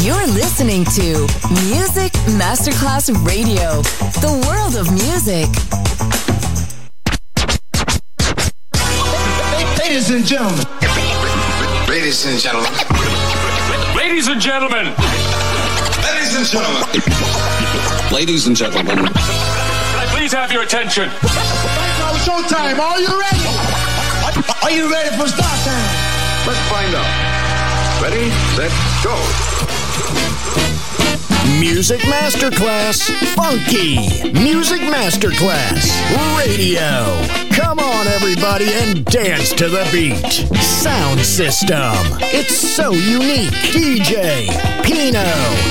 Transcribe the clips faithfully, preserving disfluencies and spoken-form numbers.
You're listening to Music Masterclass Radio, the world of music. Ladies and gentlemen. Ladies and gentlemen. Ladies and gentlemen. Ladies and gentlemen. Ladies and gentlemen. Can I please have your attention? It's showtime. Are you ready? Are you ready for start time? Let's find out. Ready, set, go. Music Masterclass Funky. Music Masterclass Radio. Come on, everybody, and dance to the beat. Sound system. It's so unique. D J Pino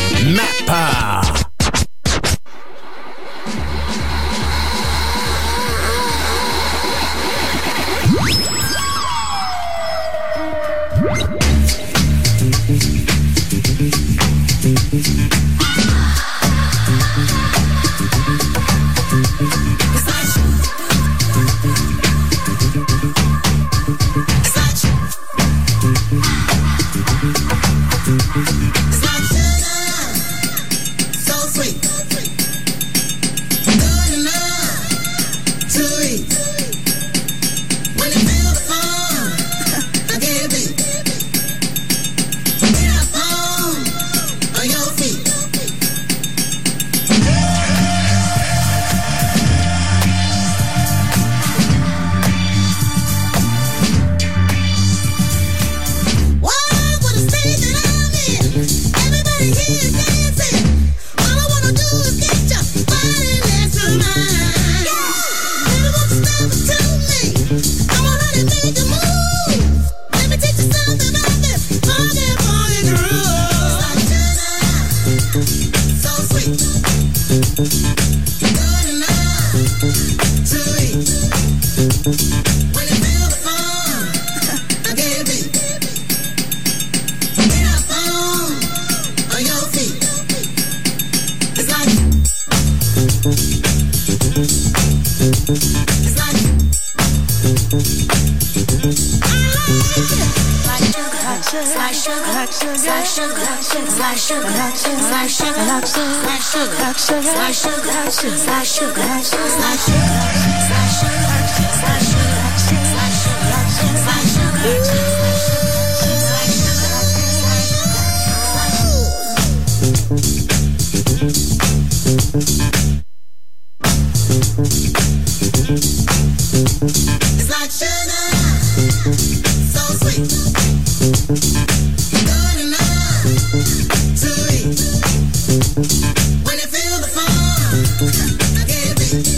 Mappa.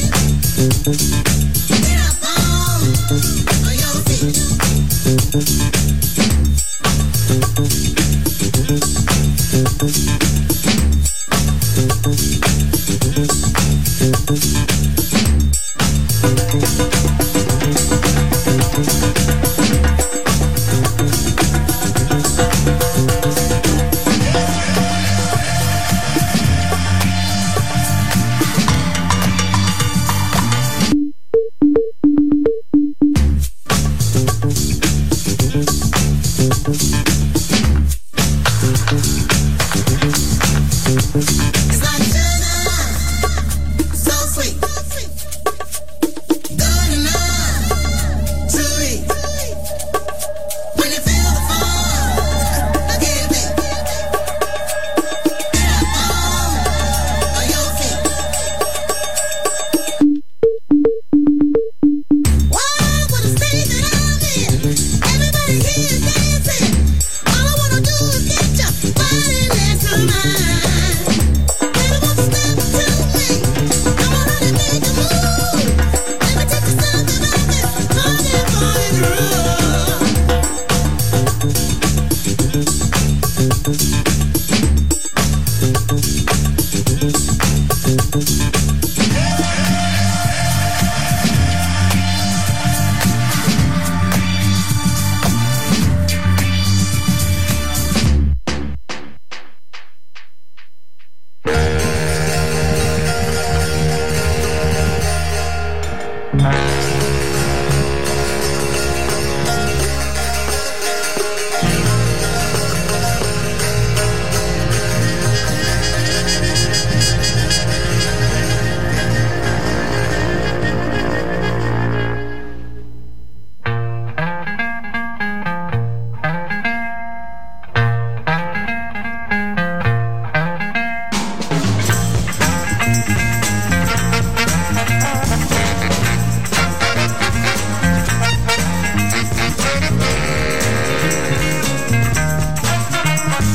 Get up on your feet.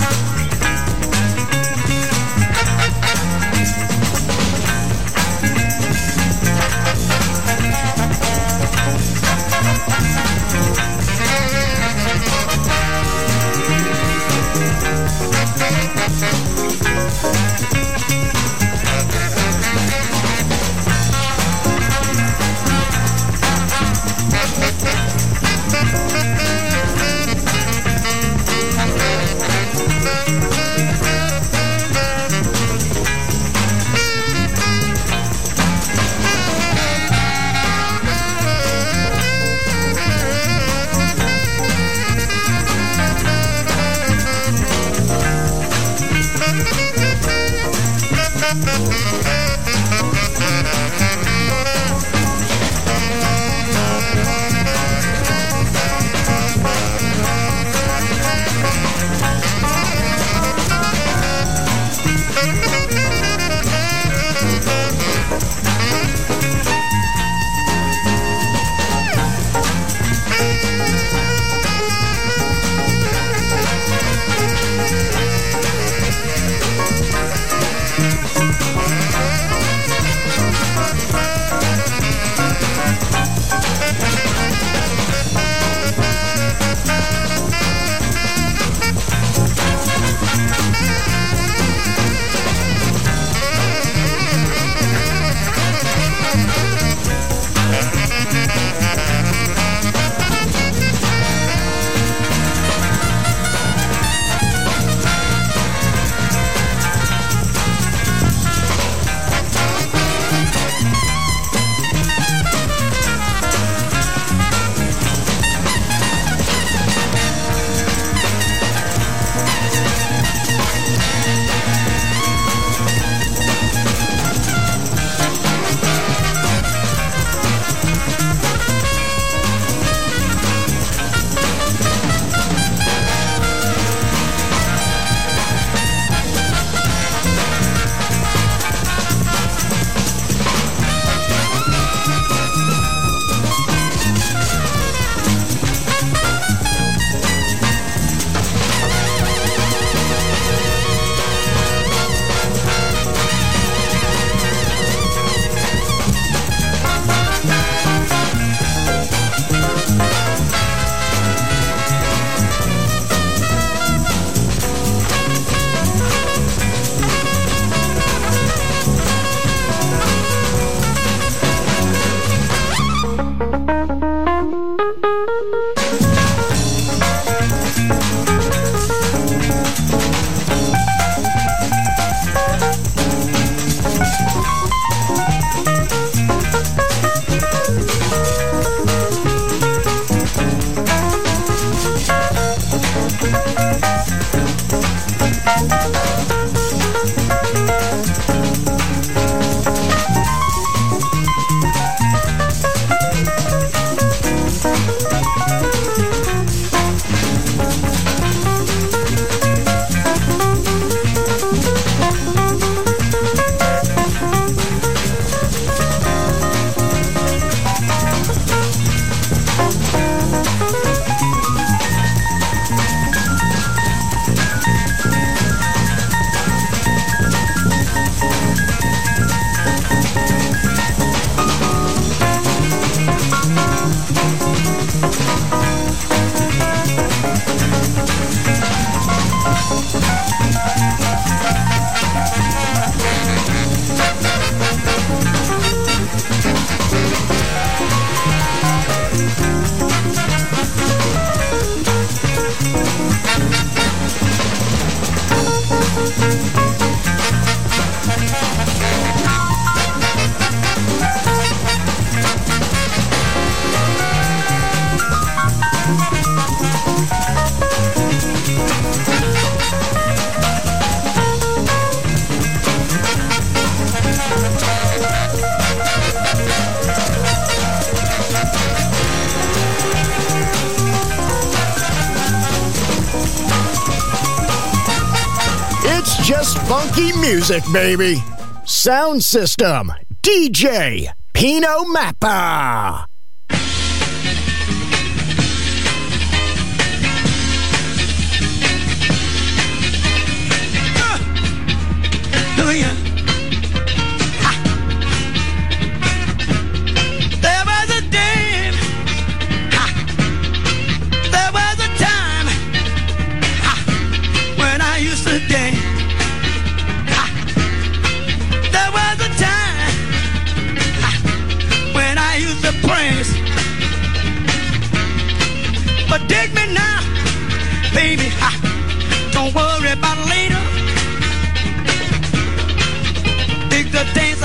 just funky music, baby. Sound system, D J Pino Mappa.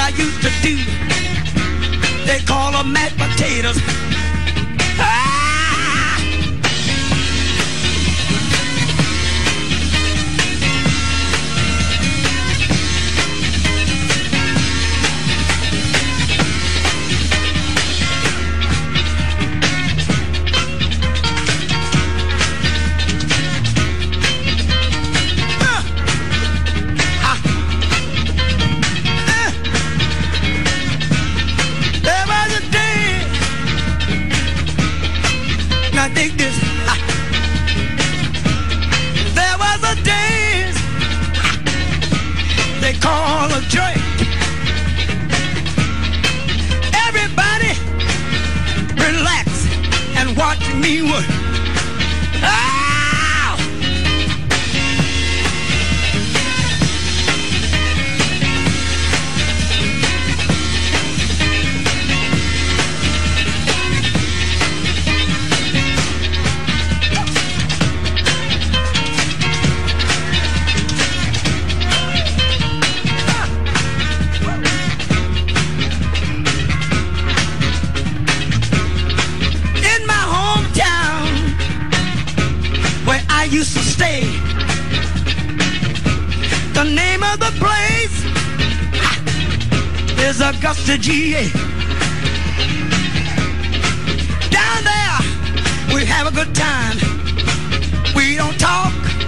I used to do. They call them mashed potatoes. Ah! Dig this. There was a dance they call a joint. Everybody relax and watch me work. Ah! Used to stay. The name of the place is Augusta, G A. Down there we have a good time. We don't talk.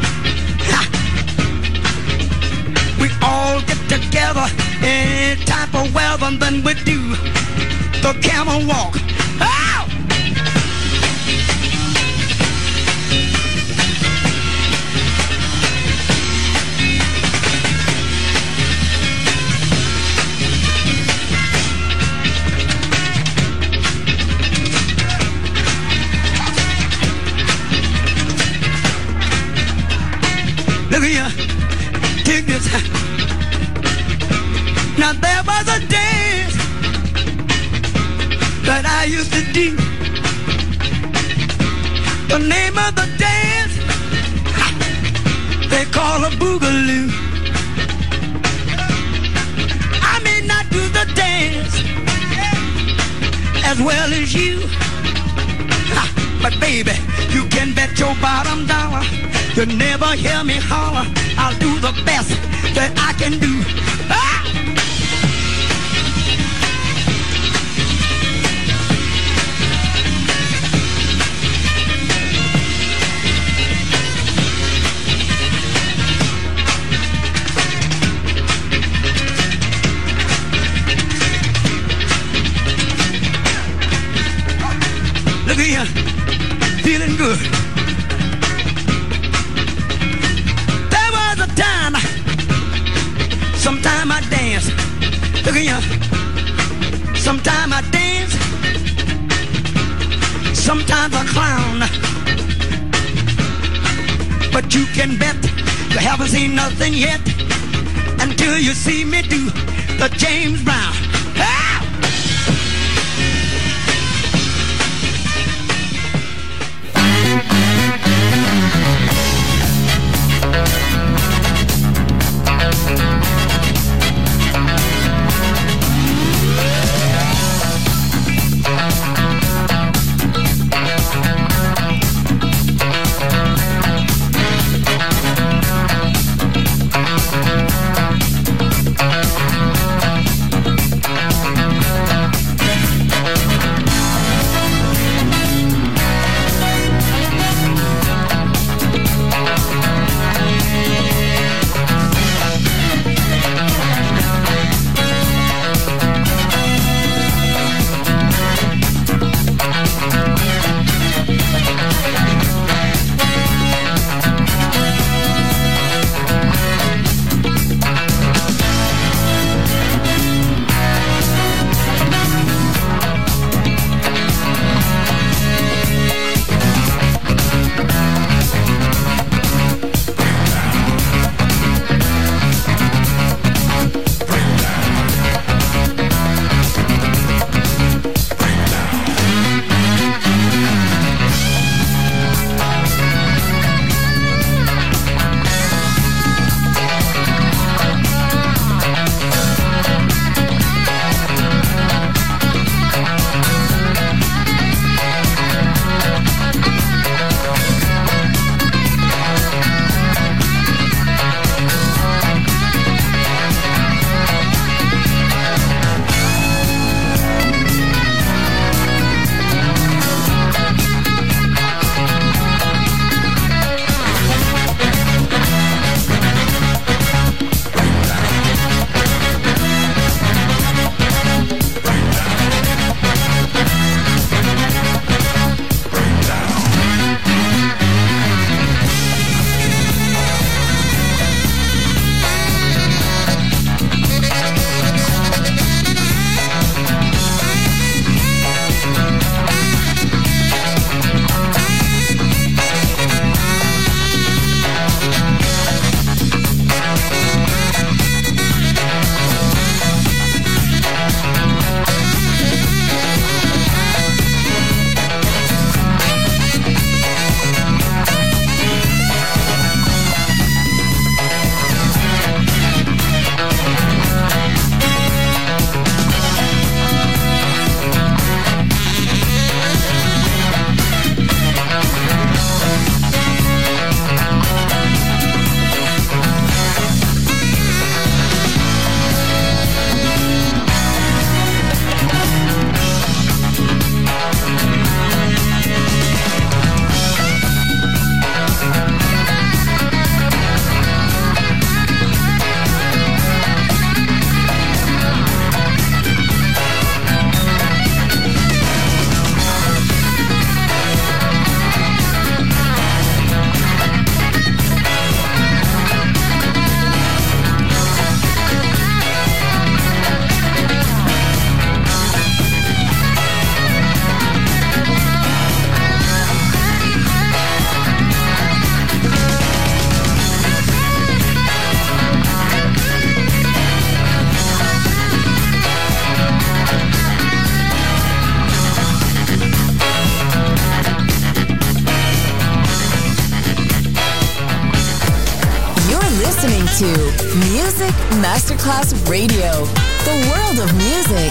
We all get together any type of weather, and then we do the camel walk. Oh! Look here, take this. Now there was a dance that I used to do. The name of the dance they call a boogaloo. I may not do the dance as well as you, but baby, you can bet your bottom dollar you never hear me holler. I'll do the best that I can do. Ah! Look here, feeling good. Sometime I dance, look at you. Sometime I dance, sometimes I clown. But you can bet you haven't seen nothing yet until you see me do the James Brown. Ah! listening to Music Masterclass Radio, the world of music.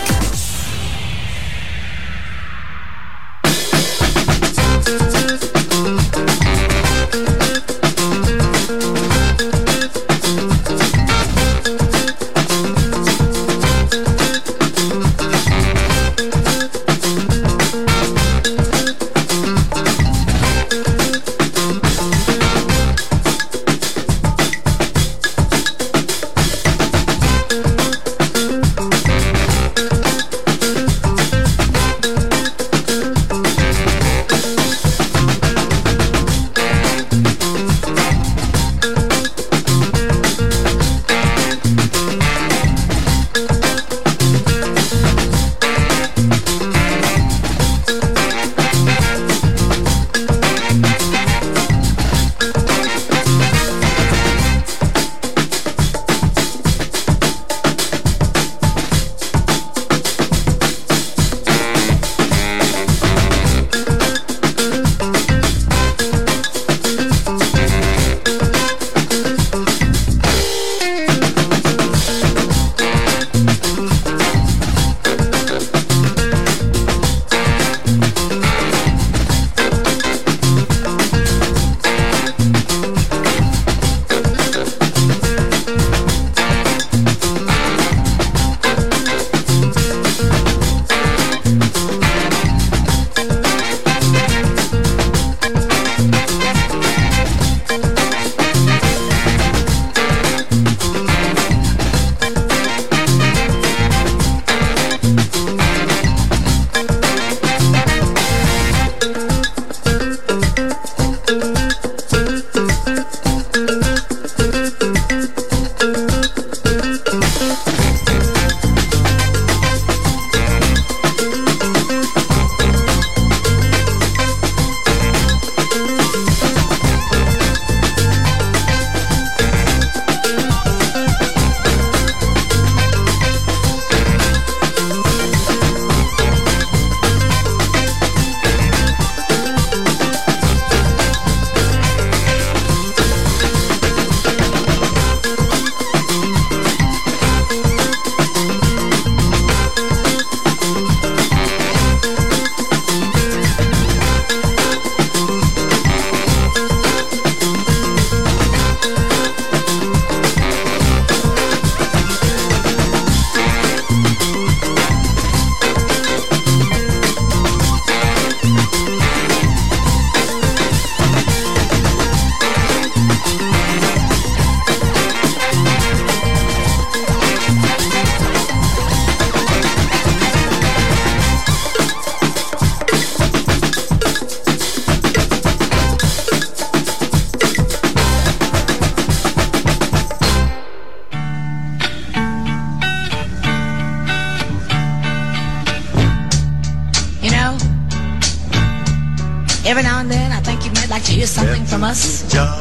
Every now and then, I think you might like to hear something from us.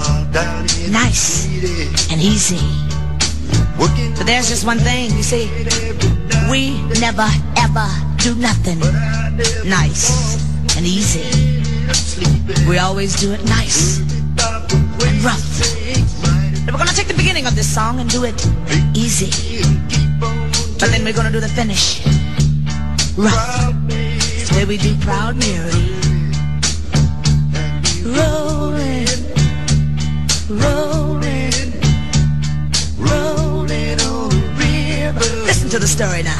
Nice and easy. But there's just one thing, you see. We never, ever do nothing nice and easy. We always do it nice and rough. But we're going to take the beginning of this song and do it easy. But then we're going to do the finish rough. It's the way we do Proud Mary. Rolling, rolling, rolling on the river. Listen to the story now.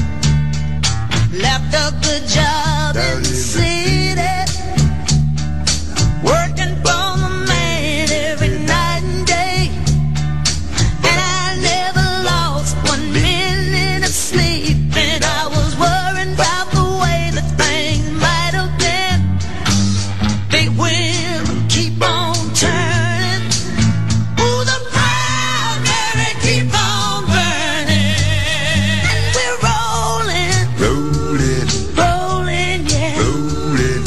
Left a good job in the city, working for the man every night and day, and I never lost one minute of sleep, and I was worried about the way that things might have been. Big wind keep on turning, ooh, the Proud Mary keep on burning, and we're rolling, rolling, rolling, yeah, rolling,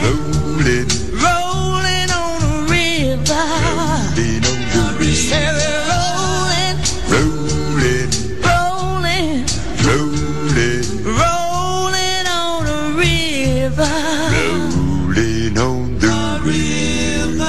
rolling, rolling on the river, rolling on the river, rolling, rolling, rolling, rolling, rolling on the river, rolling on the river.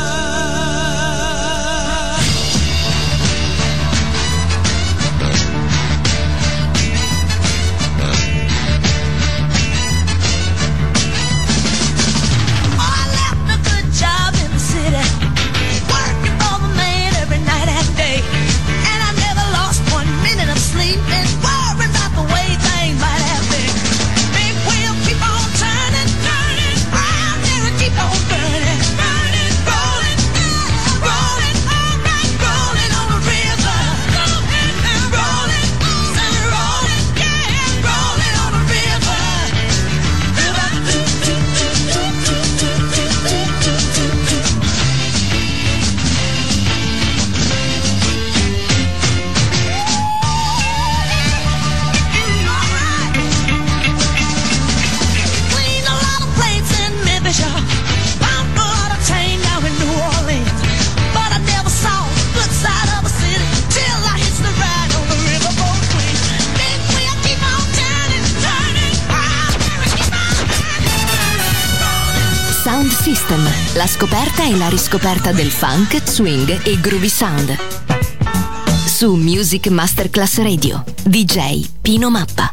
System, la scoperta e la riscoperta del funk, swing e groovy sound. Su Music Masterclass Radio, D J Pino Mappa.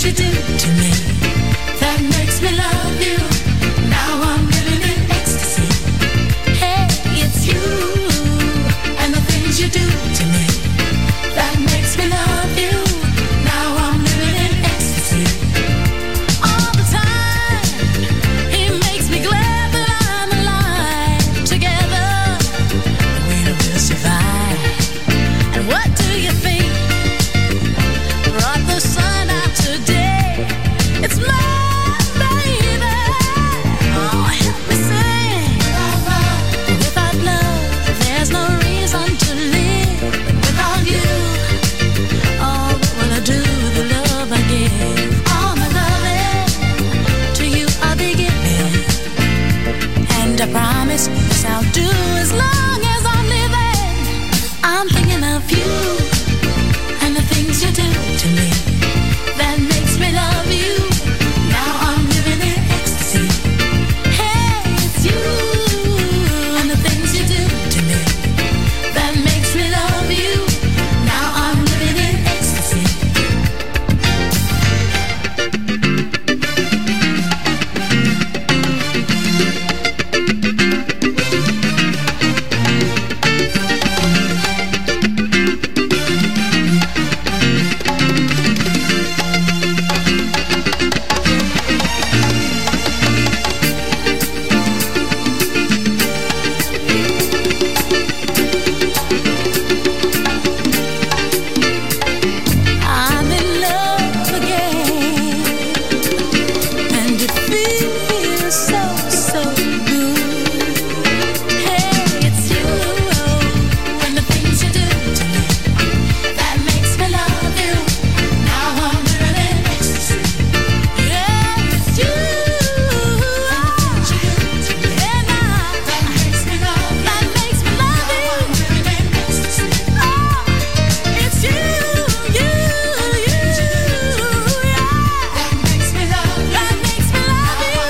things you do to me that makes me love you. Now I'm living in ecstasy. Hey, it's you and the things you do to me that makes me love you. Now I'm living in ecstasy. All the time, he makes me glad that I'm alive. Together, we will survive. And what do you think brought the sun out today? It's my baby. Oh, help me sing. Without love, there's no reason to live. Without you, oh, what will I do with the love I give? All my loving to you I'll be giving, and I promise this I'll do as long as I'm living. I'm thinking of you and the things you do to me that makes me love you. Now I'm living in ecstasy. Hey, it's you and the things you do to me that makes me love you. Now I'm living in ecstasy. I'm in love again, and it feels so, so good. Hey, it's you and the things you do to me that makes me love you. Now I'm living in ecstasy. Yeah, it's you and the things you do to me that makes me love you. That makes me love you. Now I'm living in ecstasy. Oh, it's you, you, you, yeah. That makes me love you. That makes me love you.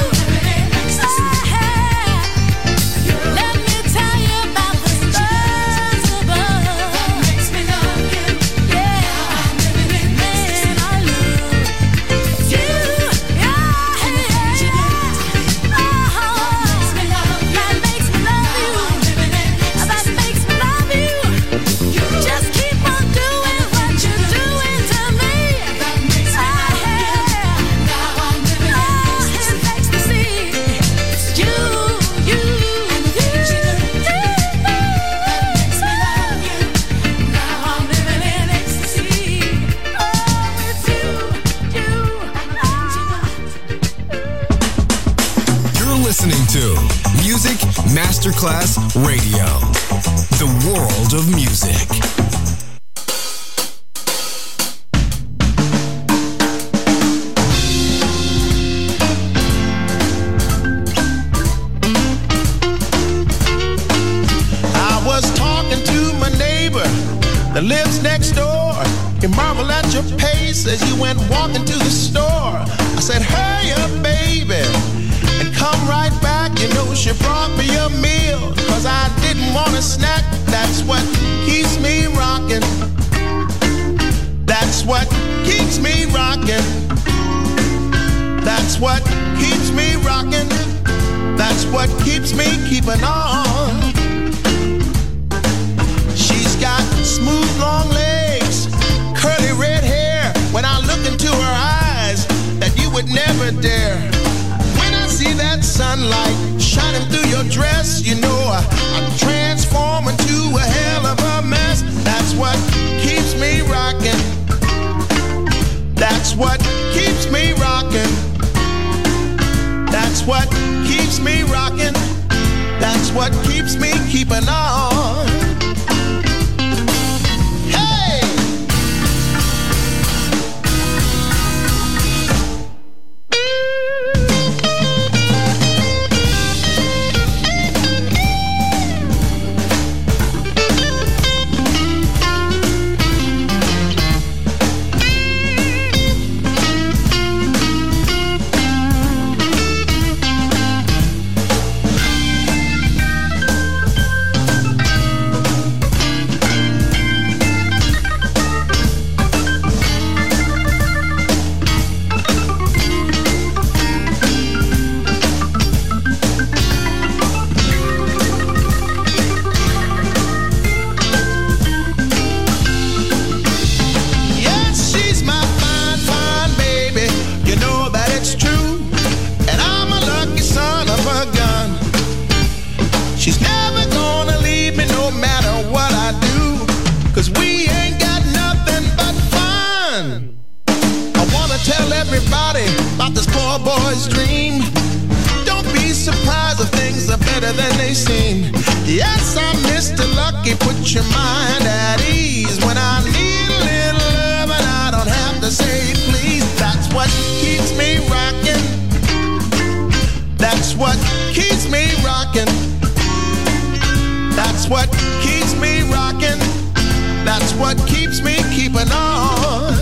Let me tell you about the stars above. That makes me love you. Yeah, I'm living in ecstasy. Man, I love you. Yeah, yeah, yeah. Oh, that makes me love you. That makes me love you. That makes me love you. Just keep on doing what you're doing to me. That makes me love you. Now I'm living in ecstasy. It's you, you, and the things you do to me that makes me love you. Now I'm living in ecstasy. Oh, it's you, you, You're listening to Music Masterclass Radio, the world of music. I was talking to my neighbor that lives next door. He marveled at your pace as you went walking to the store. I said, hurry up, baby, and come right back. You know she brought me a meal, cause I didn't want a snack. That's what keeps me rocking. That's what keeps me rocking. That's what keeps me rocking. That's what keeps me keeping on. She's got smooth long legs, curly red hair. When I look into her eyes, that you would never dare. When I see that sunlight shining through your dress, you know I, I transform into a hell of a mess. That's what keeps me rocking. That's what keeps me rocking. That's what keeps me rocking. That's what keeps me keeping on. Hey! everybody about this poor boy's dream. Don't be surprised if things are better than they seem. Yes, I'm Mister Lucky, put your mind at ease. When I need a little love and I don't have to say please. That's what keeps me rocking. That's what keeps me rocking. That's what keeps me rocking. That's what keeps me keeping on.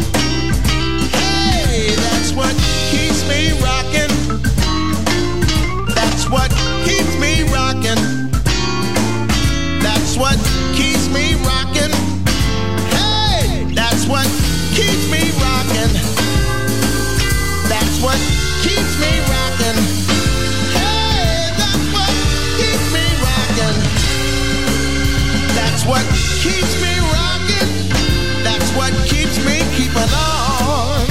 Hey, that's what keeps me rocking. That's what keeps me rocking. That's what keeps me rocking. Hey, that's what keeps me rocking. That's what keeps me rocking. Hey, that's what keeps me rocking. That's what keeps me rocking. That's what keeps me keeping on.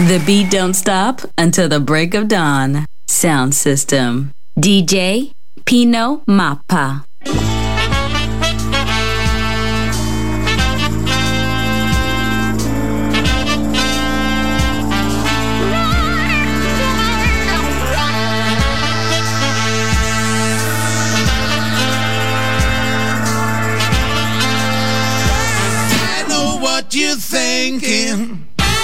The beat don't stop until the break of dawn. Sound System. D J Pino Mappa. I know what you're thinking.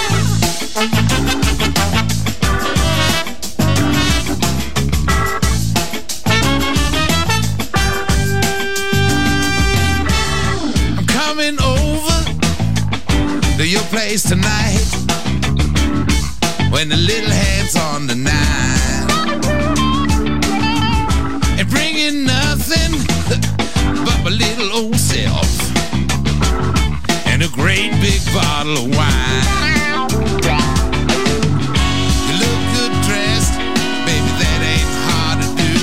I'm coming over to your place tonight when the little hand's on the nine and bringing nothing but my little old self and a great big bottle of wine. You look good dressed, baby, that ain't hard to do.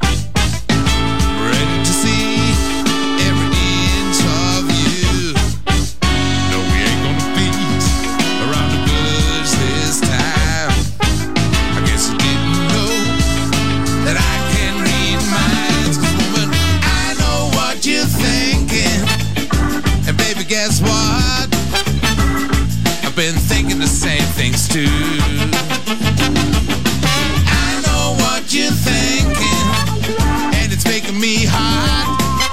Ready to see every inch of you. No, we ain't gonna beat around the bush this time. I guess you didn't know that I can read minds. 'Cause woman, I know what you're thinking. And baby, guess what? I've been thinking the same things too. I know what you're thinking, and it's making me hot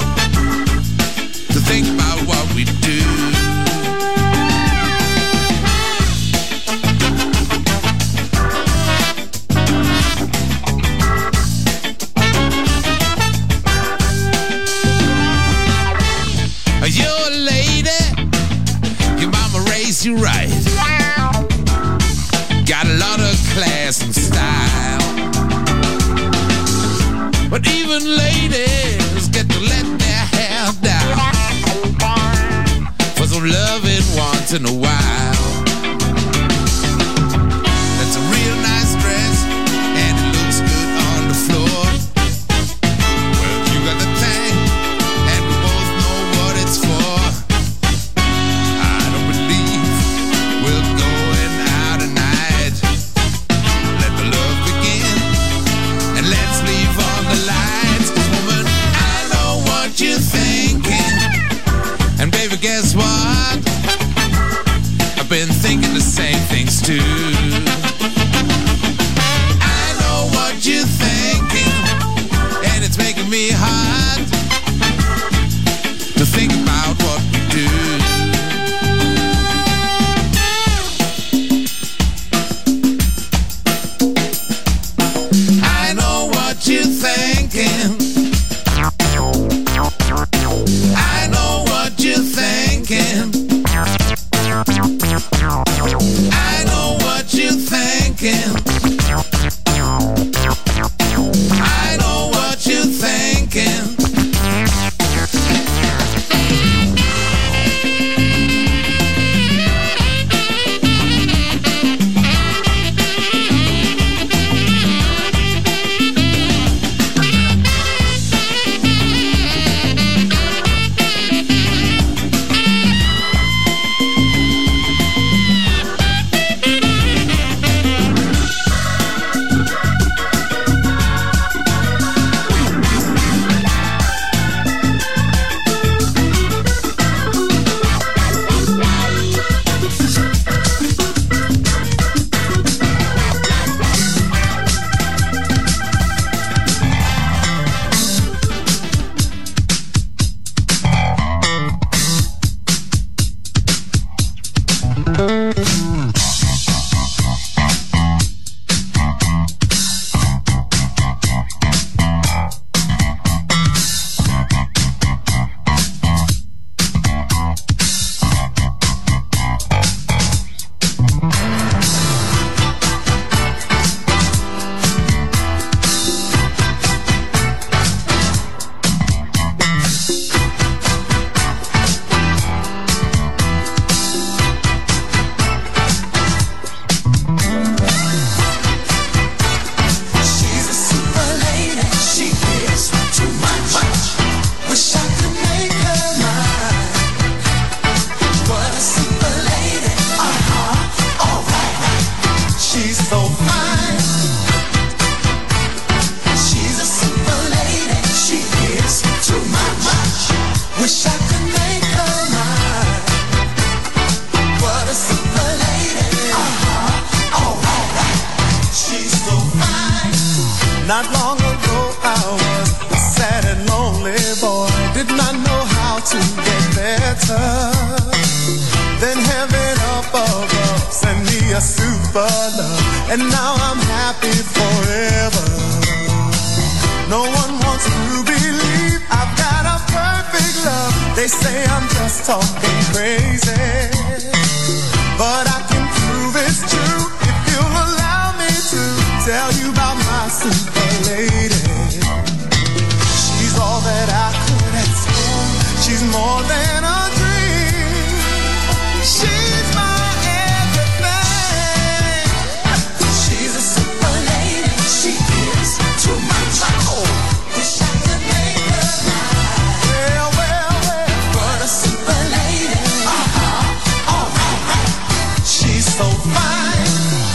to think about what we do. You're a lady, your mama raised you right. Got a lot of class and style. But even ladies get to let their hair down for some loving once in a while. That's a real nice dress, and it looks good on the floor. Well, you got the thing, and we both know what it's for. I don't believe we're going out tonight. Let the love begin, and let's leave on the lights. 'Cause woman, I know what you're thinking, and baby, guess what? I've been to get better. Then heaven up above sent me a super love, and now I'm happy forever. No one wants to believe I've got a perfect love. They say I'm just talking crazy, but I can prove it's true if you'll allow me to tell you about my super lady. She's all that I could ask for. She's more than a dream. She's my everything. She's a super lady. She gives too much. Oh, wish I could make her mine. Well, well, well, what a super lady. Uh-huh. All right, right. She's so fine.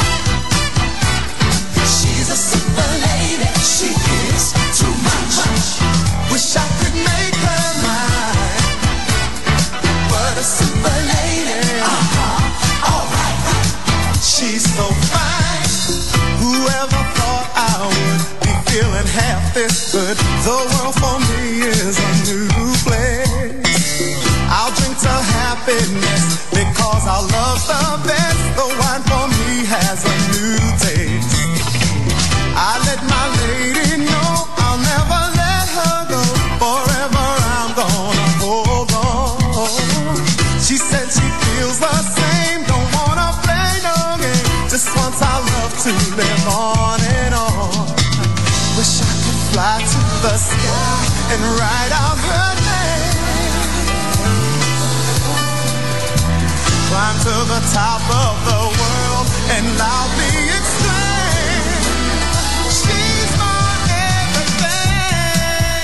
She's a super lady. She gives too much. Wish I could make her mine. What a super lady. Uh-huh. All right, right. She's so fine. Whoever thought I would be feeling half this good? The world for me is a new place. I'll drink to happiness because our love's the best. The wine for me has a new taste. I let my lady know I'll never let her go. Forever I'm gonna hold on. She said she feels the same. Don't wanna play no game. Just wants our love to live on and on. Wish I could fly to the sky and write out her name. Climb to the top of the world and loudly exclaim, she's my everything.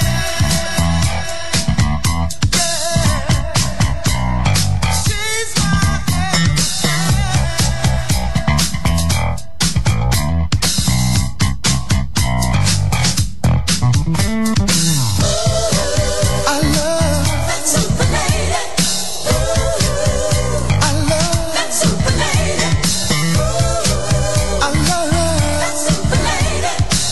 Yeah. She's my I love that super lady. I love that super lady. I love that super lady.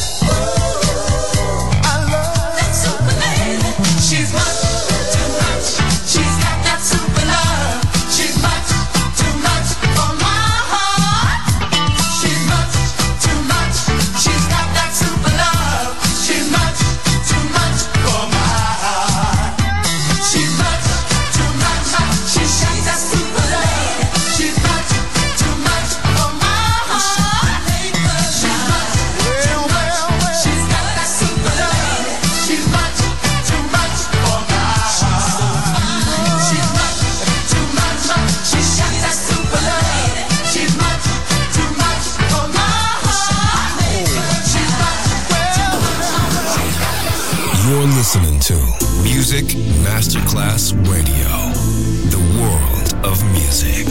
I love that super lady. She's much too much. She's got that super love. She's much too much for my heart. She's much too much. She's got that super love. She's much too much for my heart. She's much too much. She's got that super lady. She's much too much for my heart. She's much too much. She's got that super lady. She's much too much for my heart. She's much too much. She's got that super lady. She's much too much for my heart. She's much. You're listening to Music Masterclass Radio, the world of music.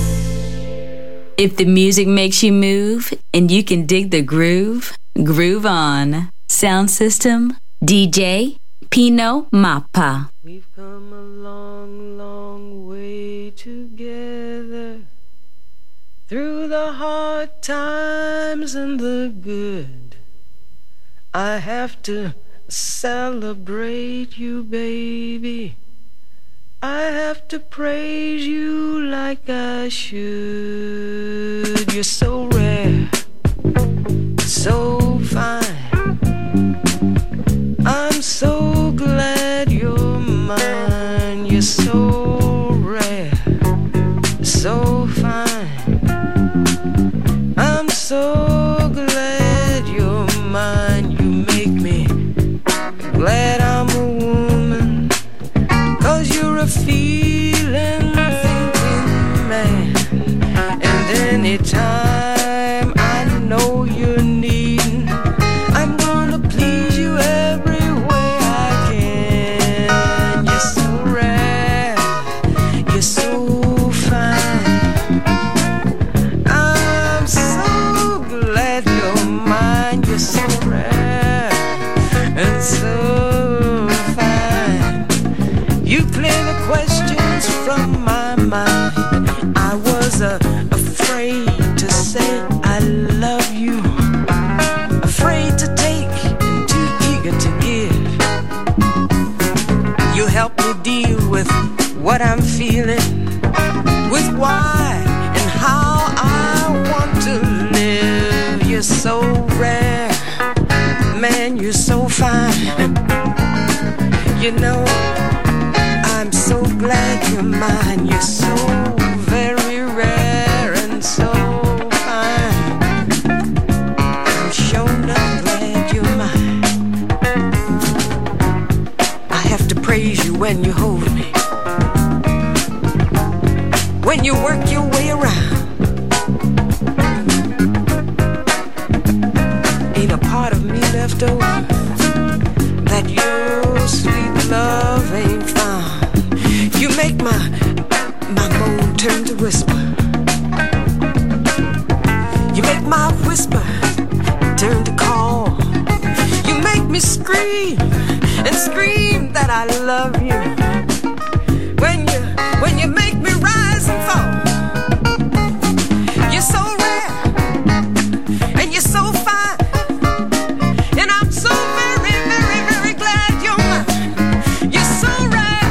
If the music makes you move and you can dig the groove, groove on. Sound system, D J Pino Mappa. We've come a long, long way together, through the hard times and the good. I have to celebrate you, baby. I have to praise you like I should. You're so rare, so fine. I'm so glad you're mine. You're so rare, so fine. I'm so glad you're mine. You make me glad I'm a woman, 'cause you're a feeling, thinking man. And anytime I know you're needing what I'm feeling, with why and how I want to live. You're so rare, man, you're so fine. You know, I'm so glad you're mine. You're so very rare and so fine. I'm sure not glad you're mine. I have to praise you when you hold me, when you work your way around. Ain't a part of me left over that your sweet love ain't found. You make my my moan turn to whisper. You make my whisper turn to call. You make me scream and scream that I love you. When you when you make me rise and fall. You're so rare and you're so fine, and I'm so very, very, very glad you're mine. You're so rare,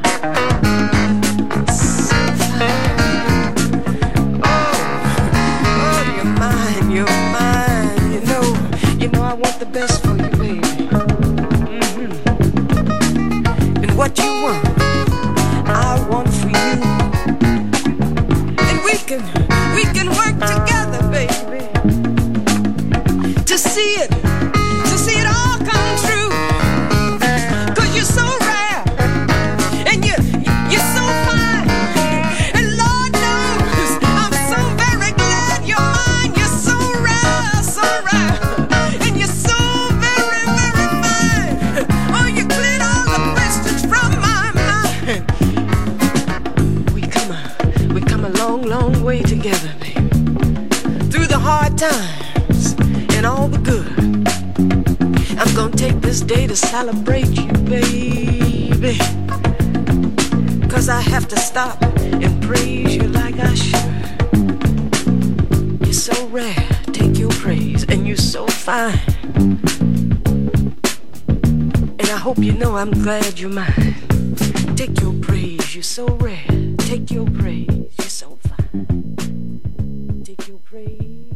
so fine. Oh, oh, you're mine, you're mine. You know, you know I want the best for you, baby. Mm-hmm. And what you want, I want for you. And we can, we can work together, baby, to see it, to see it all come true. Cause you're so rare, and you, you're so fine. And Lord knows, I'm so very glad you're mine. You're so rare, so rare, and you're so very, very fine. Oh, you cleared all the questions from my mind. We come a, we come a long, long way together, baby. Through the hard times and all the good. I'm gonna take this day to celebrate you, baby. Cause I have to stop and praise you like I should. You're so rare, take your praise, and you're so fine. And I hope you know I'm glad you're mine. Take your praise, you're so rare. Take your praise, you're so fine. Take your praise.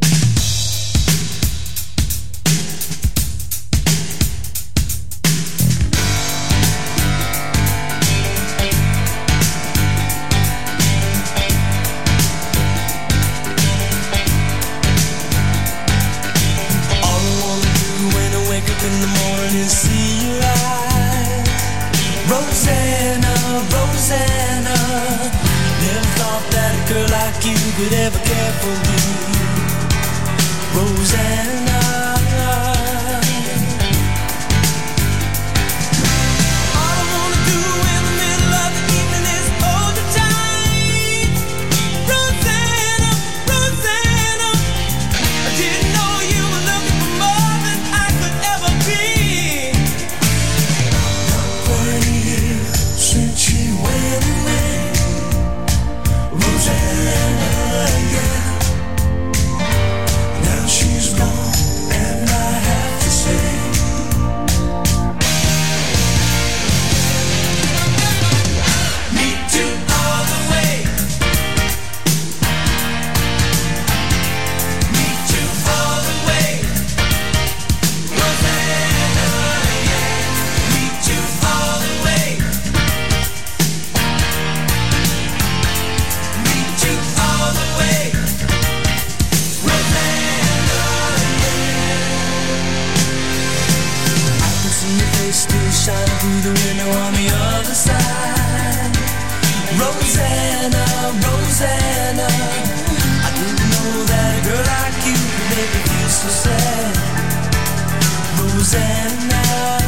All I wanna do when I wake up in the morning is see your eyes. Rosanna, Rosanna, never thought that a girl like you could ever care for me. Rosanna, all I wanna do in the middle of the evening is hold you tight. Rosanna, Rosanna, I didn't know you were looking for more than I could ever be. Twenty years since she went away, Rosanna, yeah. Now she's gone, and I have to say, me too all the way. Me too all the way. Rosanna, yeah. Me too all the way. Me too all the way. Rosanna, yeah. I can see your face still shining through the window on the other side. Rosanna, Rosanna, I didn't know that a girl like you could make me feel so sad. Rosanna,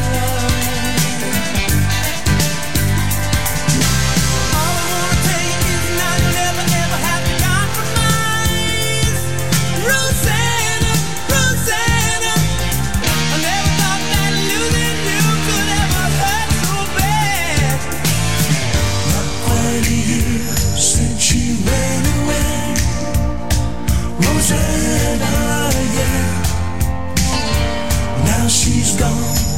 all I wanna tell you is now you'll never ever have to compromise. Rosanna, Rosanna, I never thought that losing you could ever hurt so bad. Not quite a year since she ran away. Rosanna, yeah. Now she's gone,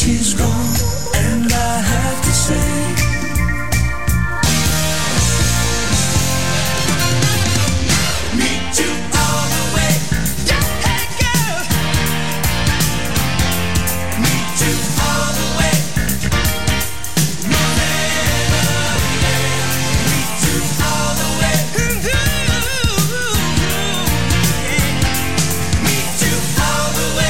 she's gone, and I have to say, meet you all the way. Yeah, hey girl, meet you all the way. Meet you all the way. Meet you all the way.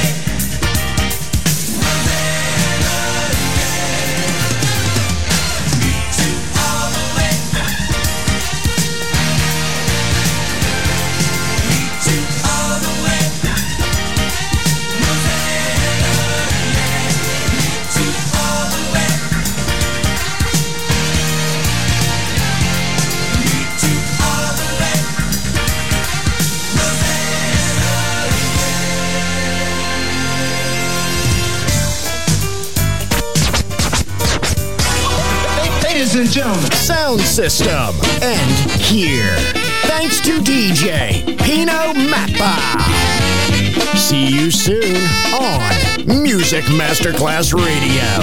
Ladies and gentlemen, Sound System, and here, thanks to D J Pino Mappa. See you soon on Music Masterclass Radio.